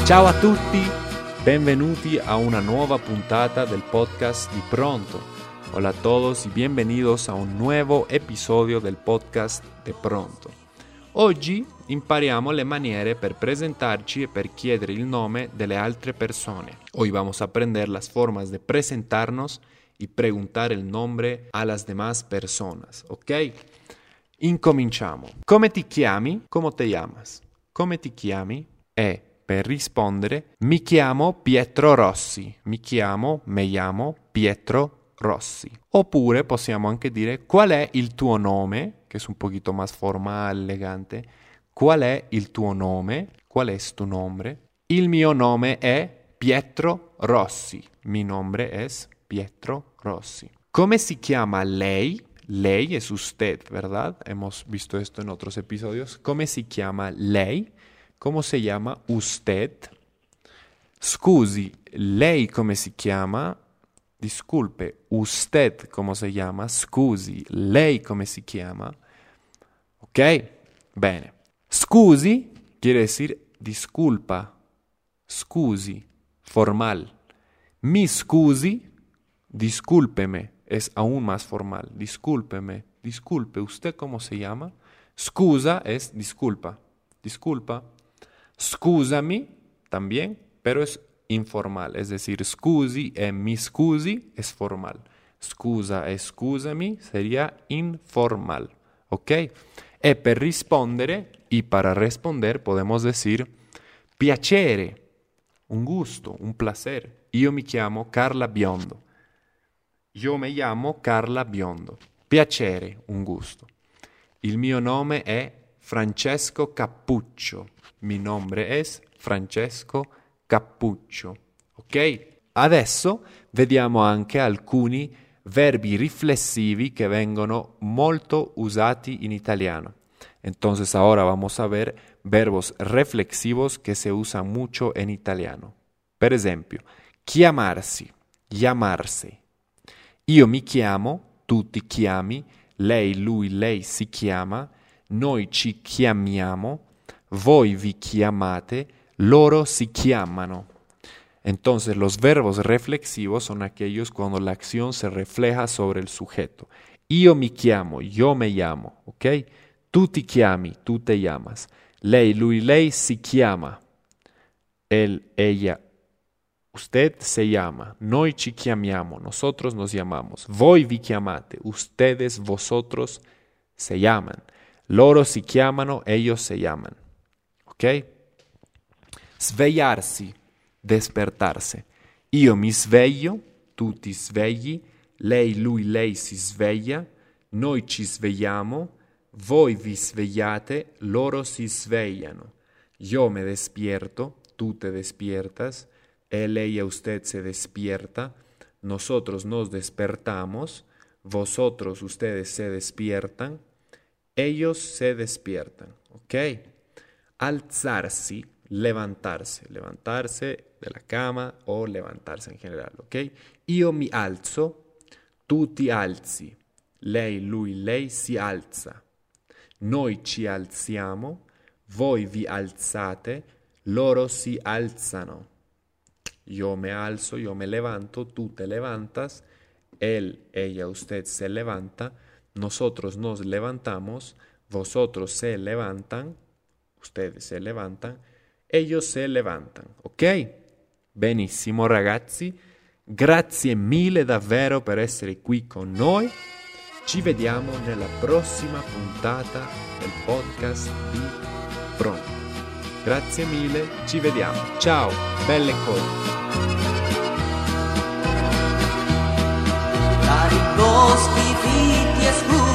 Ciao a tutti, benvenuti a una nueva puntata del podcast di Pronto. Hola a todos y bienvenidos a un nuevo episodio del podcast di Pronto. Oggi impariamo le maniere per presentarci e per chiedere il nome delle altre persone. Hoy vamos a aprender las formas de presentarnos y preguntar el nombre a las demás personas, ¿ok? Incominciamo. Come ti chiami? Come te llamas? Come ti chiami? E per rispondere, mi chiamo Pietro Rossi. Me llamo Pietro Rossi. Oppure possiamo anche dire qual è il tuo nome, che è un poquito más formal, elegante. Qual è il tuo nome? Qual es tu nombre? Il mio nome è Pietro Rossi. Mi nombre es Pietro Rossi. Come si chiama lei? Lei es usted, ¿verdad? Hemos visto esto en otros episodios. ¿Cómo se llama lei? ¿Cómo se llama usted? Scusi, lei come si chiama? Disculpe, usted come si chiama? Scusi, lei come si chiama? Ok? Bene. Scusi quiere decir disculpa. Scusi, formal. Mi scusi, discúlpeme, es aún más formal. Discúlpeme, disculpe, ¿usted cómo se llama? Scusa es disculpa. Disculpa. Scusami también, pero es informal. Es decir, scusi e mi scusi es formal. Scusa e scusami sería informal. ¿Ok? E per rispondere, y para responder podemos decir piacere, un gusto, un placer. Io mi chiamo Carla Biondo. Io mi chiamo Carla Biondo. Piacere, un gusto. Il mio nome è Francesco Cappuccio. Mi nombre es Francesco Cappuccio. Ok? Adesso vediamo anche alcuni verbi riflessivi que vengono molto usati in italiano. Entonces ahora vamos a ver verbos reflexivos que se usan mucho en italiano. Per esempio, chiamarsi, llamarsi. Io mi chiamo, tu ti chiami, lei, lui, lei si chiama, noi ci chiamiamo, voi vi chiamate, loro si chiamano. Entonces los verbos reflexivos son aquellos cuando la acción se refleja sobre el sujeto. Io mi chiamo, yo me llamo, ¿ok? Tu ti chiami, tu te llamas. Lei, lui, lei si chiama. Él, ella, usted se llama. Noi ci chiamiamo, nosotros nos llamamos. Voi vi chiamate, ustedes, vosotros se llaman. Loro si chiamano, ellos se llaman. ¿Ok? Svegliarsi, despertarse. Io mi sveglio, tu ti svegli, lei, lui, lei si sveglia, noi ci svegliamo, voi vi svegliate, loro si svegliano. Yo me despierto, tú te despiertas, él, ella, usted se despierta, nosotros nos despertamos, vosotros, ustedes se despiertan, ellos se despiertan. ¿Ok? Alzarsi, levantarse de la cama o levantarse en general, ¿ok? Io mi alzo, tu ti alzi, lei, lui, lei si alza, noi ci alziamo, voi vi alzate, loro si alzano. Yo me alzo, yo me levanto, tú te levantas, él, ella, usted se levanta, nosotros nos levantamos, vosotros se levantan, ustedes se levantan, ellos se levantan, ok? Benissimo ragazzi, grazie mille davvero per essere qui con noi. Ci vediamo nella prossima puntata del podcast di Pronto. Grazie mille, ci vediamo. Ciao, belle cose. Cari boschi fitti e scuri